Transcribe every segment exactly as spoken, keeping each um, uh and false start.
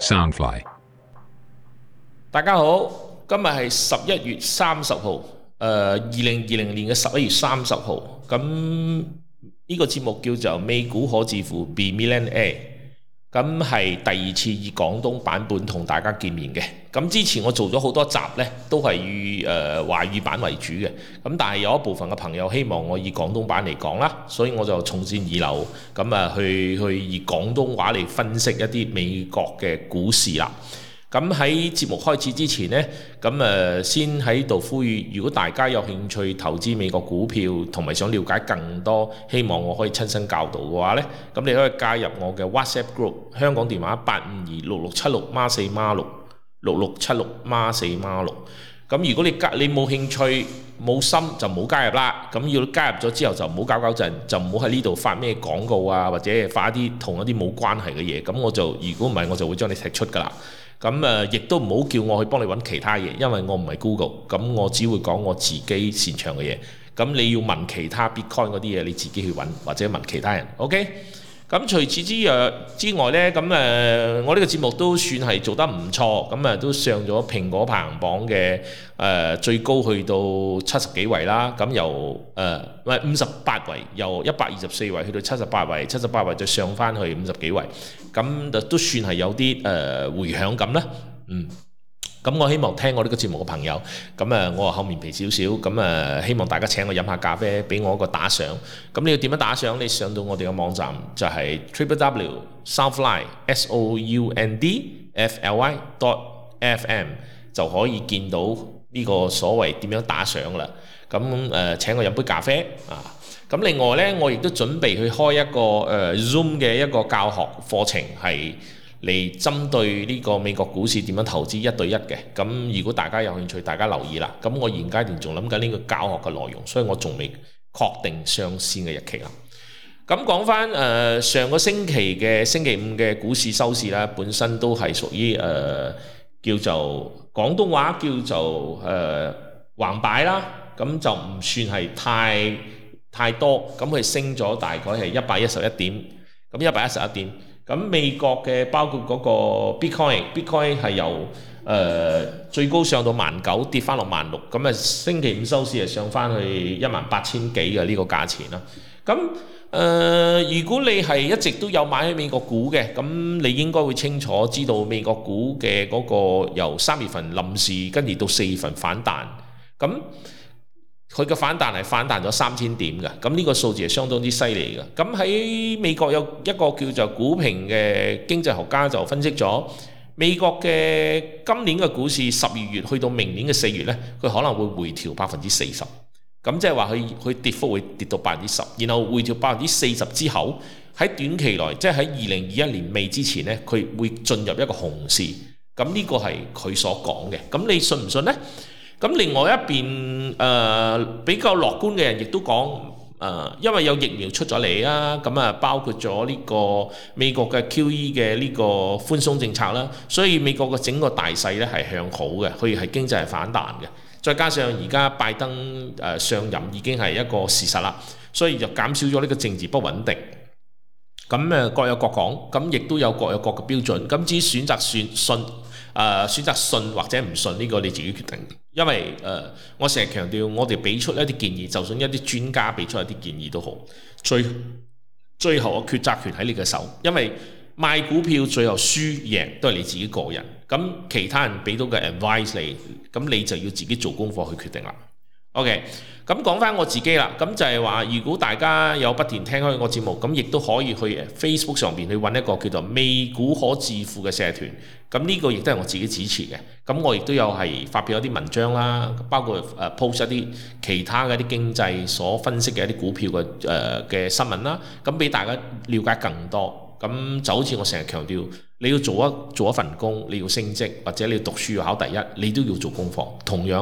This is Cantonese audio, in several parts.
Soundfly。 大家好，今日係十一月三十號，誒二零二零年嘅十一月三十號。咁呢個節目叫做美股可致富 Be Millionaire，咁係第二次以廣東版本同大家見面嘅。咁之前我做咗好多集呢，都係以誒、呃、華語版為主嘅。咁但係有一部分嘅朋友希望我以廣東版嚟講啦，所以我就從善如流，咁啊去去以廣東話嚟分析一啲美國嘅股市啦。咁喺節目開始之前呢，咁誒先喺度呼籲，如果大家有興趣投資美國股票，同埋想了解更多，希望我可以親身教導嘅話呢，咁你可以加入我嘅 WhatsApp group， 香港電話八五二六六七六孖四孖六六六七六孖四孖六。咁如果你加你冇興趣冇心就唔好加入啦。咁要加入咗之後就唔好搞搞震，就唔好喺呢度發咩廣告啊，或者發一啲同一啲冇關係嘅嘢。咁我就如果唔係我就會將你踢出㗎啦。咁誒，亦都唔好叫我去幫你揾其他嘢，因為我唔係 Google，咁我只會講我自己擅長嘅嘢。咁你要問其他 Bitcoin 嗰啲嘢，你自己去揾或者問其他人。OK？咁除此之外之外呢，咁誒我呢個節目都算係做得唔錯，咁誒都上咗蘋果排行榜嘅誒、呃、最高去到七十幾位啦。咁由誒唔係五十八位，由一百二十四位去到七十八位，七十八位再上翻去五十幾位，咁就都算係有啲誒、呃、迴響咁啦。嗯。咁我希望聽我呢個節目嘅朋友，咁誒我厚面皮少少，咁誒希望大家請我飲下咖啡，俾我一個打賞。咁你要點樣打賞？你上到我哋嘅網站就係 triple w soundfly s o u n d f l y dot f m 就可以見到呢個所謂點樣打賞啦。咁誒、呃、請我飲杯咖啡啊！咁另外呢，我亦都準備去開一個誒、呃、Zoom 嘅一個教學課程係。嚟針對呢個美國股市點樣投資一對一嘅。咁如果大家有興趣，大家留意啦。咁我現階段仲諗緊呢個教學嘅內容，所以我仲未確定上線嘅日期啦。咁講翻誒上個星期嘅星期五嘅股市收市啦，本身都係屬於誒、呃、叫做廣東話叫做誒、呃、橫擺啦，咁就唔算係太太多，咁佢升咗大概係一百一十一點，咁一百一十一點。咁美國嘅包括嗰個 Bitcoin，Bitcoin 係由誒、呃、最高上到萬九，跌翻落萬六，咁啊星期五收市係上翻去一萬八千幾嘅呢個價錢啦。咁誒、呃，如果你係一直都有買喺美國股嘅，咁你應該會清楚知道美國股嘅嗰個由三月份臨時跟住到四月份反彈，咁。佢嘅反彈係反彈咗三千點嘅，咁呢個數字係相當之犀利嘅。咁喺美國有一個叫做股評嘅經濟學家就分析咗美國嘅今年嘅股市十二月去到明年嘅四月呢，佢可能會回調百分之四十。咁即係話佢佢跌幅會跌到百分之十，然後回調百分之四十之後，喺短期內即係喺二零二一年尾之前呢，佢會進入一個熊市。咁呢個係佢所講嘅。咁你信唔信呢？咁另外一邊誒、呃、比較樂觀嘅人亦都講誒，因為有疫苗出咗嚟啊，咁啊包括咗呢個美國嘅 Q E 嘅呢個寬鬆政策啦，所以美國嘅整個大勢咧係向好嘅，佢係經濟係反彈嘅。再加上而家拜登誒上任已經係一個事實啦，所以就減少咗呢個政治不穩定。咁誒各有各講，咁亦都有各有各嘅標準。咁至於選擇選信誒、呃、選擇信或者唔信呢個你自己決定。因為誒、呃，我成日強調，我哋俾出一啲建議，就算一啲專家俾出一啲建議都好，最最後嘅抉擇權喺你嘅手。因為賣股票最後輸贏都係你自己個人，咁其他人俾到嘅 advice 你，咁你就要自己做功課去決定啦。OK， 咁講翻我自己啦，咁就係話，如果大家有不斷聽開我節目，咁亦都可以去 Facebook 上邊去揾一個叫做美股可致富嘅社團，咁呢個亦都係我自己主持嘅，咁我亦都有係發表一啲文章啦，包括誒 post 一啲其他嘅一啲經濟所分析嘅一啲股票嘅誒嘅新聞啦，咁俾大家了解更多。咁就好似我成日強調，你要做一做一份工，你要升職或者你要讀書要考第一，你都要做功課。同樣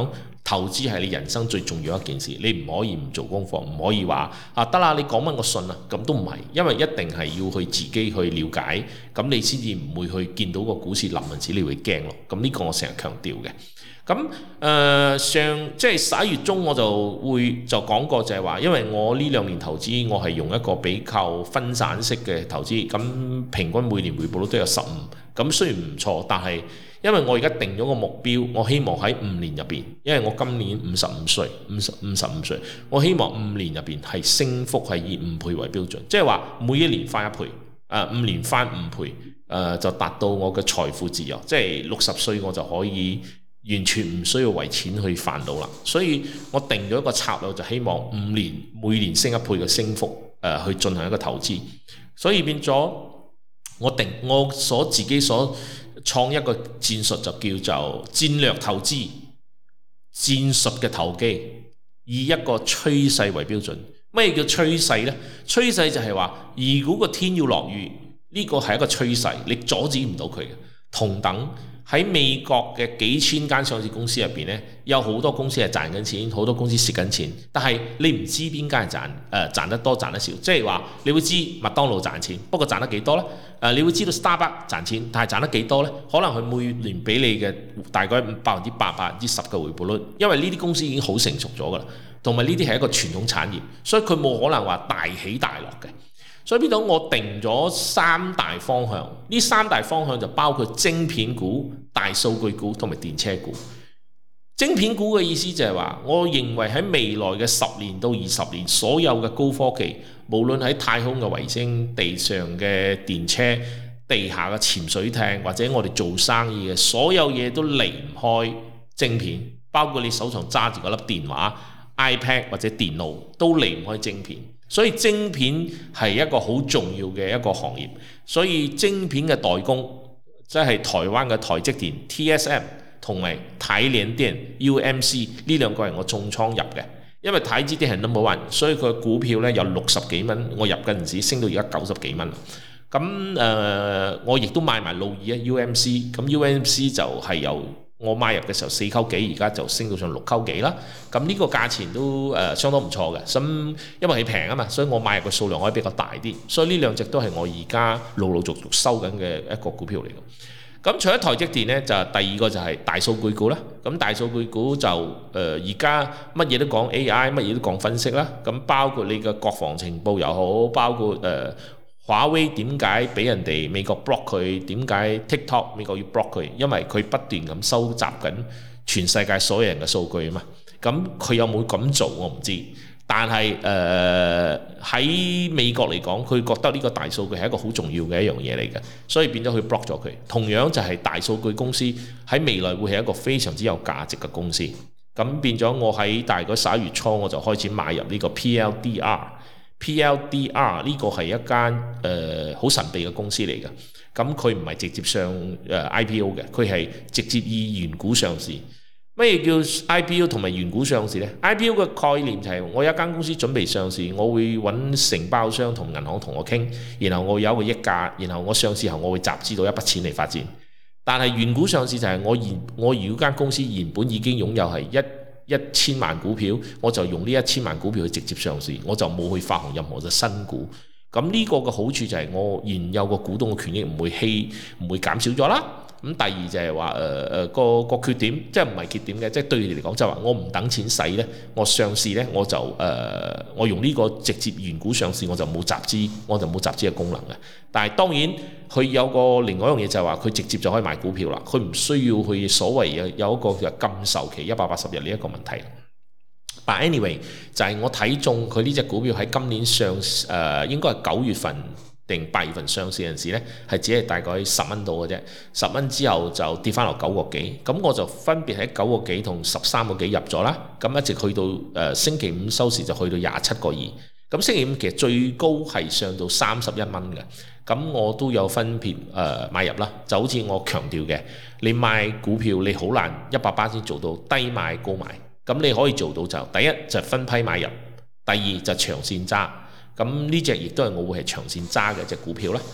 投資係你人生最重要一件事，你唔可以唔做功課，唔可以話啊得啦，你講乜我信啊，咁都唔係，因為一定係要去自己去了解，咁你先至唔會去見到個股市冧嗰陣時，你會驚咯。咁呢個我成日強調嘅。咁誒、呃、上即係十一月中我就會就講過就係話，因為我呢兩年投資我係用一個比較分散式嘅投資，咁平均每年回報率都有十五，咁雖然唔錯，但係因為我而家定咗個目標，我希望喺五年入邊，因為我今年五十五歲，五十五十五歲，我希望五年入邊係升幅係以五倍為標準，即係話每一年翻一倍，誒、呃、五年翻五倍，誒、呃、就達到我嘅財富自由，即係六十歲我就可以完全唔需要為錢去煩惱啦。所以我定咗一個策略，就希望五年每年升一倍嘅升幅，誒、呃、去進行一個投資。所以變咗我定我所自己所創一個戰術，就叫做戰略投資，戰術嘅投機，以一個趨勢為標準。咩叫趨勢呢？趨勢就係話，如果個天要落雨，呢個係一個趨勢，你阻止唔到佢嘅。同等喺美國嘅幾千間上市公司入邊呢，有好多公司係賺緊錢，好多公司蝕緊錢，但係你唔知邊間係賺誒、呃、賺得多賺得少，即係話你會知麥當勞賺錢，不過賺得幾多呢？誒、呃，你會知道 Starbucks 賺錢，但係賺得幾多呢？可能佢每年俾你嘅大概百分之八、百分之十嘅回報率，因為呢啲公司已經好成熟咗㗎啦，同埋呢啲係一個傳統產業，所以佢冇可能話大起大落嘅。所以變咗我定咗三大方向，呢三大方向就包括晶片股、大數據股同埋電車股。晶片股嘅意思就係話，我認為喺未來嘅十年到二十年，所有嘅高科技，無論喺太空嘅衛星、地上嘅電車、地下嘅潛水艇，或者我哋做生意嘅所有嘢都離唔開晶片，包括你手上揸住嗰粒電話、iPad 或者電腦都離唔開晶片。所以晶片係一個好重要嘅一個行業，所以晶片嘅代工即係台灣嘅台積電 T S M 同埋台聯電 U M C 呢兩個係我重倉入嘅，因為台積電係 number one， 所以佢嘅股票呢有六十幾蚊，我入嗰陣時升到而家九十幾蚊。咁誒、呃，我亦都買埋路易啊 U M C， 咁 U M C 就係由我買入嘅時候四溝幾，而家就升到上六溝幾啦。咁呢個價錢都誒、呃、相當唔錯嘅。咁因為佢平啊嘛，所以我買入嘅數量可以比較大啲。所以呢兩隻都係我而家陸陸續續收緊嘅一個股票嚟嘅。咁除咗台積電呢，就第二個就係大數據股啦。咁大數據股就誒而家乜嘢都講 A I， 乜嘢都講分析啦。咁包括你嘅國防情報又好，包括誒。呃華為點解俾人哋美國 block 佢？點解 TikTok 美國要 block 佢？因為佢不斷咁收集緊全世界所有人嘅數據啊嘛。咁佢有冇咁做我唔知，但係誒喺美國嚟講，佢覺得呢個大數據係一個好重要嘅一樣嘢嚟嘅，所以變咗佢 block 咗佢。同樣就係大數據公司喺未來會係一個非常之有價值嘅公司。咁變咗我喺大概十一月初我就開始買入呢個 P L D R。P L D R 呢個係一間誒好神秘嘅公司嚟嘅，咁佢唔係直接上誒、呃、I P O 嘅，佢係直接以原股上市。乜嘢叫 I P O 同埋原股上市呢？ I P O 嘅概念就係我有一間公司準備上市，我會揾承包商同銀行同我傾，然後我有一個溢價，然後我上市後我會集資到一筆錢嚟發展。但係原股上市就係我現我如果間公司原本已經擁有係一一千萬股票，我就用呢一千萬股票去直接上市，我就冇去發行任何嘅新股。咁呢個嘅好處就係我現有個股東嘅權益唔會稀唔會減少咗啦。咁第二就係話誒誒個個缺點，即係唔係缺點嘅，即係對你嚟講就係話我唔等錢使呢，我上市呢，我就誒、呃、我用呢個直接原股上市，我就冇集資，我就冇集資嘅功能嘅。但係當然佢有個另外一樣嘢就係話佢直接就可以買股票啦，佢唔需要去所謂有有一個嘅禁售期一百八十日呢一個問題。但 anyway 就係我睇中佢呢隻股票喺今年上誒、呃、應該係九月份定八月份上市嗰陣時呢，係只係大概十蚊到嘅啫，十蚊之後就跌翻落九個幾，咁我就分別喺九個幾同十三個幾入咗啦，咁一直去到誒、呃、星期五收市就去到廿七個二，咁星期五其實最高係上到三十一蚊嘅，咁我都有分別誒、呃、買入啦，就好似我強調嘅，你買股票你好難一百巴仙做到低買高買，咁你可以做到就第一就分批買入，第二就長線揸。咁呢隻亦都係我會係長線揸嘅隻股票啦。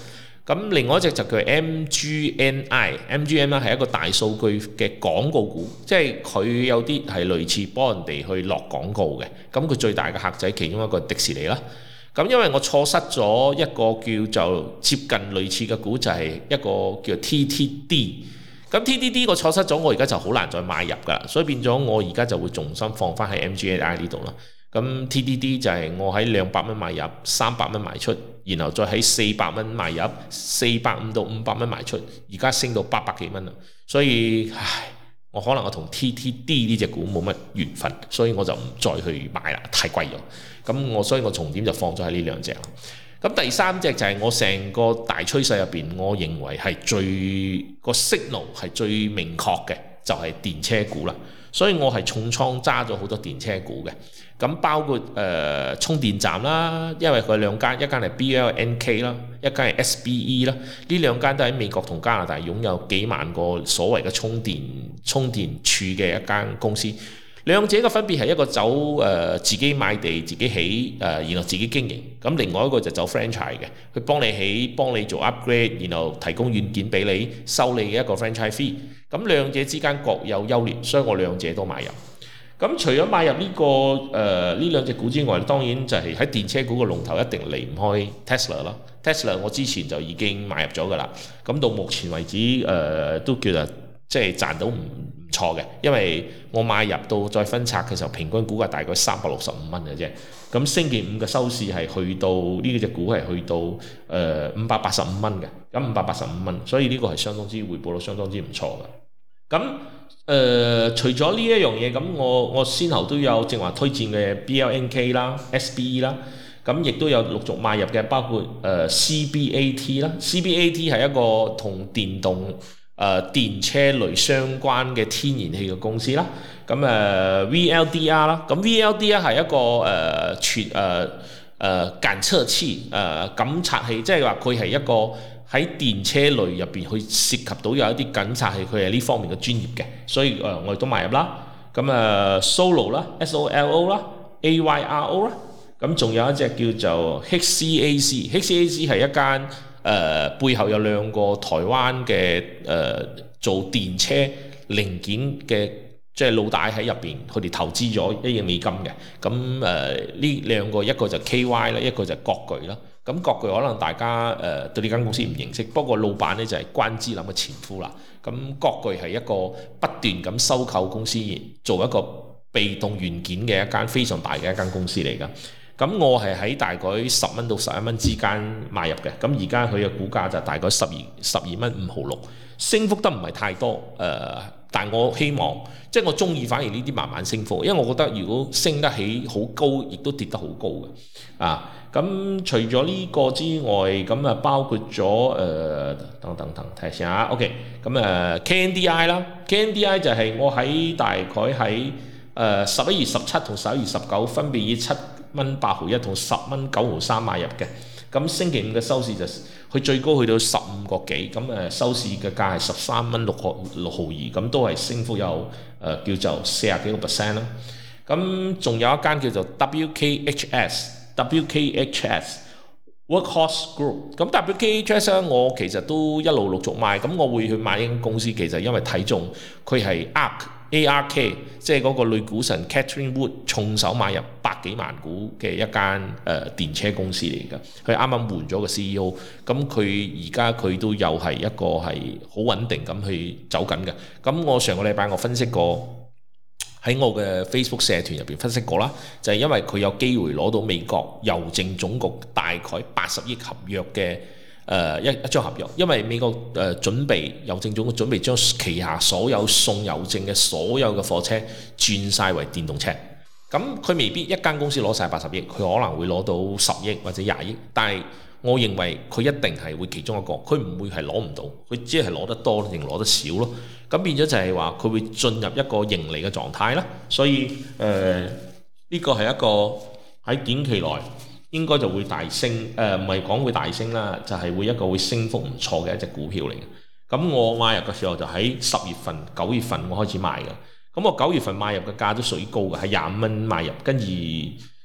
咁另外一隻就叫 M G N I，M G N I 係一個大數據嘅廣告股，即係佢有啲係類似幫人哋去落廣告嘅。咁佢最大嘅客仔其中一個迪士尼啦。咁因為我錯失咗一個叫做接近類似嘅股，就係、是、一個叫 T T D。咁 T T D 我錯失咗，我而家就好難再買入㗎啦，所以變咗我而家就會重新放翻喺 M G N I 呢度啦。咁 T T D 就係我喺兩百蚊買入，三百蚊賣出，然後再喺四百蚊買入，四百五到五百蚊賣出，而家升到八百幾蚊啦。所以唉，我可能我同 T T D 呢隻股冇乜緣分，所以我就唔再去買啦，太貴咗。咁我所以我重點就放咗喺呢兩隻。咁第三隻就係我成個大趨勢入邊，我認為係最個 signal 係最明確嘅，就係、是、電車股啦。所以我係重倉揸咗好多電車股嘅。咁包括誒、呃、充電站啦，因為佢兩間，一間係 B L N K 啦，一間係 S B E 啦，呢兩間都喺美國同加拿大擁有幾萬個所謂嘅充電充電處嘅一間公司。兩者嘅分別係一個走誒、呃、自己買地自己起誒、呃，然後自己經營。咁另外一個就走 franchise 嘅，佢幫你起，幫你做 upgrade，然後提供軟件俾你，收你嘅一個 franchise fee。咁兩者之間各有優劣，所以我兩者都買入。咁除咗買入呢、這個誒呢兩隻股之外，當然就係喺電車股嘅龍頭一定離唔開 Tesla 啦。Tesla 我之前就已經買入咗㗎啦。咁到目前為止誒、呃、都叫做即係賺到唔唔錯嘅，因為我買入到再分拆嘅時候，平均股價大概三百六十五蚊嘅啫。咁星期五嘅收市係去到呢隻股係去到誒五百八十五蚊嘅，咁五百八十五蚊，所以呢個係相當之回報率相當之唔錯嘅。咁誒、呃、除咗呢一樣嘢，咁我我先後都有正話推薦嘅 B L N K 啦、S B E 啦，咁亦都有陸續買入嘅，包括誒、呃、C B A T 啦。C B A T 係一個同電動誒、呃、電車類相關嘅天然氣嘅公司啦。咁誒、呃、V L D R 啦，咁 V L D R 係一個誒全誒誒檢測器誒檢測器，即係話佢係一個喺電車類入邊去涉及到有一啲檢測器，佢係呢方面嘅專業嘅，所以誒、呃、我亦都買入啦。咁誒、呃、Solo 啦 ，S O L O 啦 ，A Y R O 啦，咁仲有一隻叫做 H C A C，H C A C 係一間誒、呃、背後有兩個台灣嘅誒、呃、做電車零件嘅。即係老大喺入邊，佢哋投資咗一億美金嘅。咁誒呢兩個，一個就 K Y 啦，一個就國巨啦。咁國巨可能大家誒、呃、對呢間公司唔認識，不過老闆呢就係、是、關之琳嘅前夫啦。咁國巨係一個不斷咁收購公司，做一個被動元件嘅一間非常大嘅一間公司嚟㗎。咁我係喺大概十蚊到十一蚊之間買入嘅。咁而家佢嘅股價就大概十二十二蚊五毫六，升幅得唔係太多誒。呃但我希望，即係我中意反而呢啲慢慢升幅，因為我覺得如果升得起好高，亦都跌得好高嘅。啊，咁除咗呢個之外，咁啊包括咗誒、呃、等等等睇下 OK，咁誒 K N D I 啦 ，K N D I 就係我喺大概喺誒十一月十七同十一月十九分別以七蚊八毫一同十蚊九毫三買入嘅。咁星期五嘅收市就佢最高去到十五個幾，咁誒收市嘅價係十三蚊六毫六毫二，咁都係升幅有誒、呃、叫做四十幾個 percent 啦。咁仲有一間叫做 W K H S，W K H S Workhorse Group。咁 W K H S 咧，我其實都一路陸續買，咁我會去買呢間公司，其實因為睇中佢係 A R K， 即係嗰個女股神 Catherine Wood 重手買入百幾萬股嘅一間誒、呃、電車公司嚟㗎。佢啱啱換咗個 C E O， 咁佢而家佢都又係一個係好穩定咁去走緊嘅。咁我上個禮拜我分析過喺我嘅 Facebook 社團入邊分析過啦，就係、是、因為佢有機會攞到美國郵政總局大概八十億合約嘅。誒、呃、一一張合約，因為美國誒、呃、準備郵政總局準備將旗下所有送郵政嘅所有嘅貨車轉晒為電動車，咁佢未必一間公司攞晒八十億，佢可能會攞到十億或者廿億，但係我認為佢一定係會其中一個，佢唔會係攞唔到，佢只係攞得多定攞得少咯，咁變咗就係話佢會進入一個盈利嘅狀態啦，所以誒呢、呃呢個係一個喺短期內。應該就會大升，誒唔係講會大升啦，就係、是、會一個會升幅唔錯嘅一隻股票嚟嘅。咁我買入嘅時候就喺十月份、九月份我開始買嘅。咁我九月份買入嘅價都屬於高嘅，係廿五蚊買入，跟住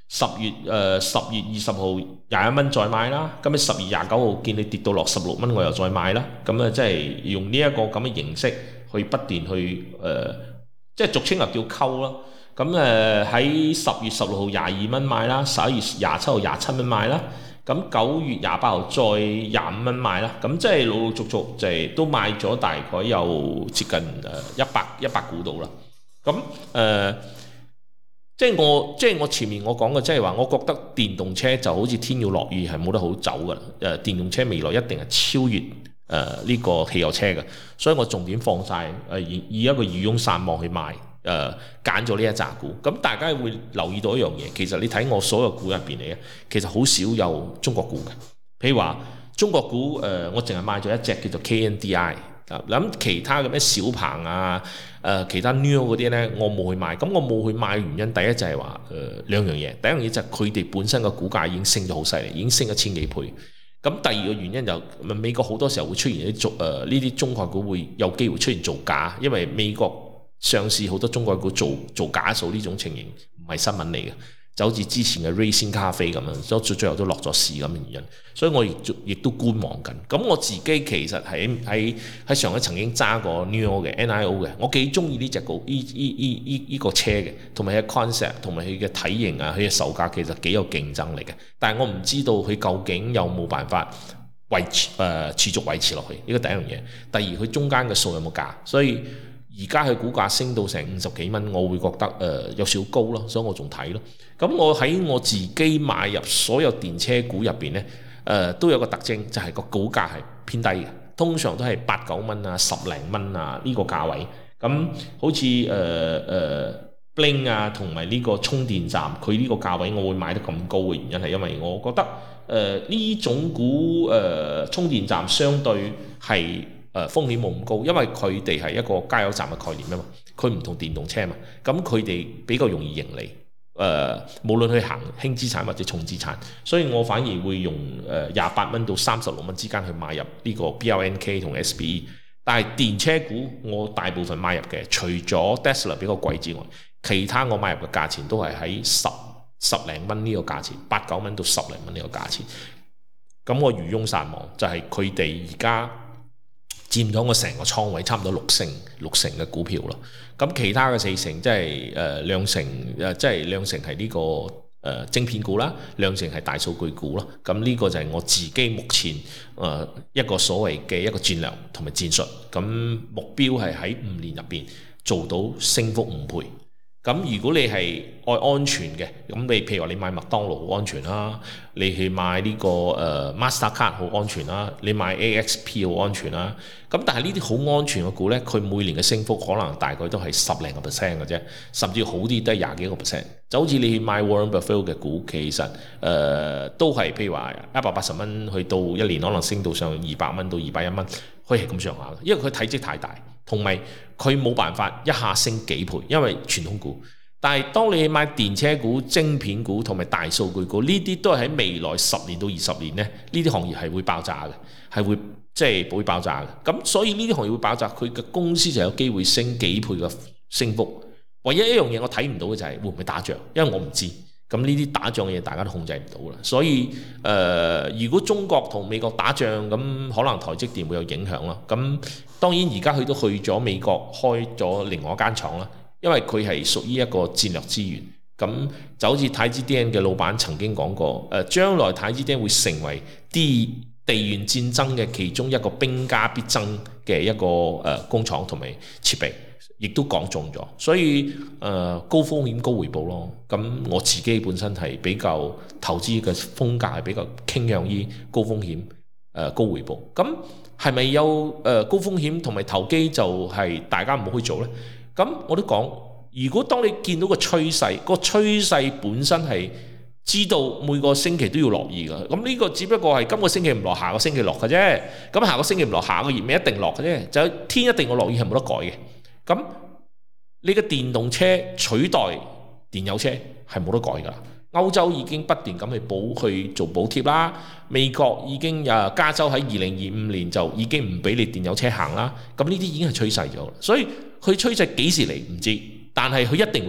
十月誒十月二十號廿一蚊再買啦，咁你十月廿九號見你跌到落十六蚊，我又再買啦，咁啊即係用呢一個咁嘅形式去不斷去誒、呃，即係俗稱又叫溝咯。咁誒喺十月十六號廿二蚊買啦，十一月廿七號廿七蚊買啦，咁九月廿八號再廿五蚊買啦，咁即係陸陸續續就係都買咗大概有接近誒一百一百股度啦。咁誒。呃即係我，即係我前面我講嘅，即係話，我覺得電動車就好似天要落雨係冇得好走㗎啦。誒，電動車未來一定係超越誒呢、呃這個汽油車嘅，所以我重點放晒誒以以一個漁翁撒網去賣誒，揀咗呢一紮股。咁大家會留意到一樣嘢，其實你睇我所有股入邊嚟嘅，其實好少有中國股嘅。譬如話中國股誒、呃，我淨係買咗一隻叫做 K N D I。諗其他嘅咩小鵬啊，誒、呃、其他 Neo 嗰啲呢，我冇去買。咁我冇去買嘅原因，第一就係話誒兩樣嘢。第一樣嘢就係佢哋本身嘅股價已經升咗好犀利，已經升咗千幾倍。咁第二個原因就美國好多時候會出現啲做誒呢啲中概股會有機會出現造假，因為美國上市好多中概股做做假數呢種情形唔係新聞嚟嘅。就好似之前嘅瑞仙咖啡咁樣，所以最後都落咗市咁嘅原因，所以我亦亦都觀望緊。咁我自己其實喺喺喺上海曾經揸過 Nio 嘅 N I O 嘅，我幾中意呢隻股呢呢呢呢呢個車嘅，同埋佢嘅 concept 同埋佢嘅體型啊，佢嘅售價其實幾有競爭力嘅。但係我唔知道佢究竟有冇辦法維持誒、呃、持續維持落去，呢個第一樣嘢。第二佢中間嘅數有冇價，所以。而家佢股價升到成五十幾蚊，我會覺得誒、呃、有少高咯，所以我仲睇咯。咁我喺我自己買入所有電車股入邊呢，誒、呃、都有個特徵，就係、是、個股價係偏低嘅，通常都係八九蚊啊、十零蚊啊呢、這個價位。咁好似誒誒 Blink 啊，同埋呢個充電站，佢呢個價位我會買得咁高嘅原因係因為我覺得誒呢、呃、種股誒、呃、充電站相對係。誒風險冇咁高，因為佢哋係一個加油站嘅概念啊嘛，佢唔同電動車嘛，咁佢哋比較容易盈利。誒、呃，無論去行輕資產或者重資產，所以我反而會用誒廿八蚊到三十六蚊之間去買入呢個 B L N K 同 S P E。但係電車股我大部分買入嘅，除咗 Tesla 比較貴之外，其他我買入嘅價錢都係喺十十零蚊呢個價錢，八九蚊到十零蚊呢個價錢。咁我漁翁撒網就係佢哋而家。佔咗我成個倉位差唔多六成六成嘅股票咯，咁其他嘅四成即係誒兩成誒即係兩成係呢、這個誒、呃、晶片股啦，兩成係大數據股咯，咁呢個就係我自己目前誒、呃、一個所謂嘅一個戰略同埋戰術，咁目標係喺五年入邊做到升幅五倍。咁如果你係愛安全嘅，咁你譬如話你買麥當勞好安全啦，你去買呢、這個誒、呃、Mastercard 好安全啦，你買 A X P 好安全啦。咁但係呢啲好安全嘅股呢，佢每年嘅升幅可能大概都係十零個 percent 嘅啫，甚至好啲都係廿幾個 percent。就好似你去買 Warren Buffett 嘅股，其實誒、呃、都係譬如話一百八十蚊去到一年可能升到上二百蚊到二百一蚊，可以係咁上下嘅，因為佢體積太大。同埋佢冇辦法一下升幾倍，因為傳統股。但係當你買電車股、晶片股同埋大數據股，呢啲都係喺未來十年到二十年呢，呢啲行業係會爆炸嘅，係會即係會爆炸嘅。咁所以呢啲行業會爆炸，佢嘅公司就有機會升幾倍嘅升幅。唯一一樣嘢我睇唔到嘅就係會唔會打仗，因為我唔知。咁呢啲打仗嘅嘢大家都控制唔到啦，所以誒、呃，如果中國同美國打仗，咁可能台積電會有影響咯。咁當然而家佢都去咗美國開咗另外一間廠啦，因為佢係屬於一個戰略資源。咁就好似台積電嘅老闆曾經講過，誒、呃、將來台積電會成為啲地緣戰爭嘅其中一個兵家必爭嘅一個誒、呃、工廠同埋設備。亦都講中咗，所以誒、呃、高風險高回報咯。咁我自己本身係比較投資嘅風格係比較傾向於高風險誒、呃、高回報。咁係咪有誒、呃、高風險同埋投機就係大家唔好去做呢？咁我都講，如果當你見到個趨勢，個趨勢本身係知道每個星期都要落雨嘅，咁呢個只不過係今個星期唔落，下個星期落嘅啫。咁下個星期唔落，下個月咪一定落嘅啫。就天一定會落雨係冇得改嘅。咁你嘅電動車取代電油車係冇得改㗎。歐洲已經不斷咁去補去做補貼啦，美國已經誒加州喺二零二五年就已經唔俾你電油車行啦。咁呢啲已經係趨勢咗，所以佢趨勢幾時嚟唔知，但係佢一定會嚟。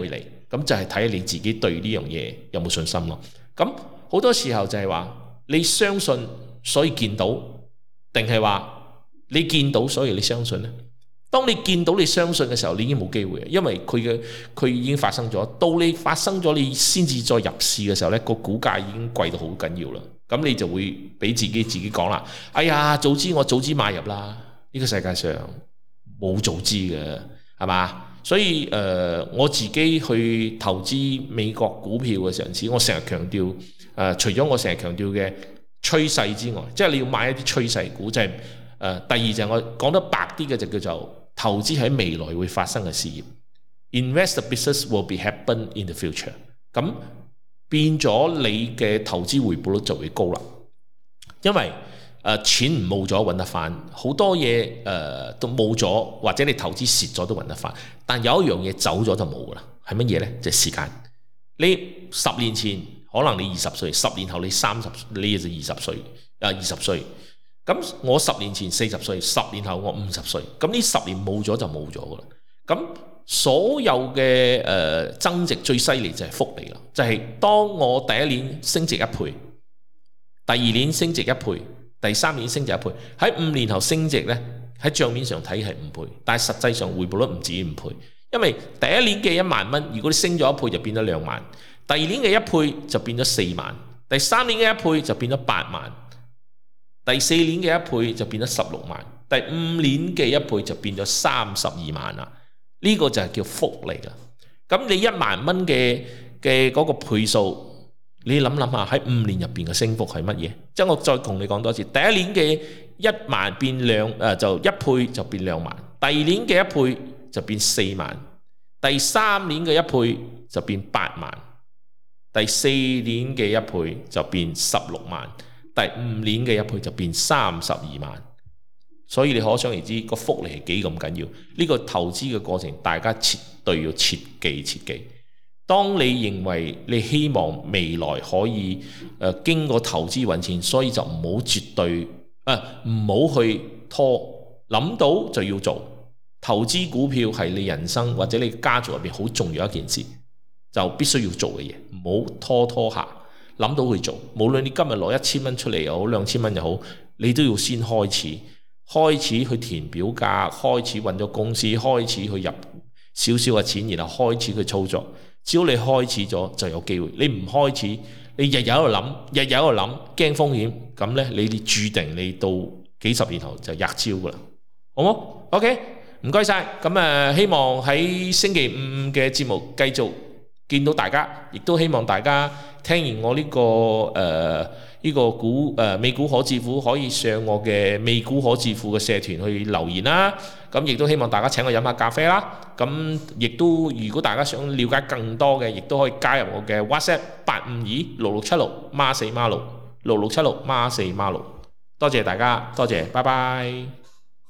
咁就係睇你自己對呢樣嘢有冇信心咯。咁好多時候就係話你相信所以見到，定係話你見到所以你相信呢？當你見到你相信嘅時候，你已經冇機會，因為佢嘅佢已經發生咗。到你發生咗，你先至再入市嘅時候呢，個股價已經貴到好緊要啦。咁你就會俾自己自己講啦，哎呀，早知我早知買入啦！呢個世界上冇早知嘅，係嘛？所以誒、呃，我自己去投資美國股票嘅時候，我成日強調誒、呃，除咗我成日強調嘅趨勢之外，即係你要買一啲趨勢股，即係誒。第二就係我講得白啲嘅，就叫做投資喺未來會發生嘅事業。Invest the business will be happen in the future。咁變咗你嘅投資回報率就會高啦，因為誒、呃、錢唔冇咗揾得翻，好多嘢誒、呃、都冇咗，或者你投資蝕咗都揾得翻。但有一樣嘢走咗就冇噶啦，係乜嘢呢？就係、時間。你十年前可能你二十歲，十年後你三十，你就二十歲，啊二十歲。咁我十年前四十歲，十年後我五十歲。咁呢十年冇咗就冇咗噶啦。咁所有嘅誒、呃、增值最犀利就係複利啦，就係、是、當我第一年升值一倍，第二年升值一倍，第三年升值一倍，喺五年後升值呢，喺帳面上睇係五倍，但係實際上回報率唔止五倍，因為第一年嘅一萬蚊，如果你升咗一倍就變咗兩萬，第二年嘅一倍就變咗四萬，第三年嘅一倍就變咗八萬，第四年嘅一倍就變咗十六萬，第五年嘅一倍就變咗三十二萬啦。呢個就係叫複利啦。咁你一萬蚊嘅嘅嗰個倍數，你諗諗下喺五年入邊嘅升幅係乜嘢？即係我再同你講多次，第一年嘅一萬變兩誒就一倍就變兩萬，第二年嘅一倍就變四萬，第三年嘅一倍就變八萬，第四年嘅一倍就變十六萬，第五年嘅一倍就變三十二萬。所以你可想而知個複利係幾咁緊要，呢個投資嘅過程大家絕對要切記切記。當你認為你希望未來可以誒、呃、經過投資揾錢，所以就唔好絕對誒唔好去拖，諗到就要做。投資股票係你人生或者你家族入邊好重要一件事，就必須要做嘅嘢，唔好拖拖下，諗到去做。無論你今日攞一千蚊出嚟又好，兩千蚊又好，你都要先開始。開始去填表格，開始揾咗公司，開始去入少少嘅錢，然後開始去操作。只要你開始咗就有機會，你唔開始，你日日喺度諗，日日喺度諗，驚風險，咁呢，你哋注定你到幾十年後就吔招噶啦，好冇 ？OK，唔該晒。咁誒，希望喺星期五嘅節目繼續見到大家，亦都希望大家聽完我呢、這個誒。呃呢個股誒美股可致富，可以上我嘅美股可致富嘅社團去留言啦。咁亦都希望大家請我飲下咖啡啦。咁亦都如果大家想了解更多嘅，亦都可以加入我嘅 WhatsApp 八五二六六七六孖四孖六六六七六孖四孖六。多謝大家，多謝，拜拜。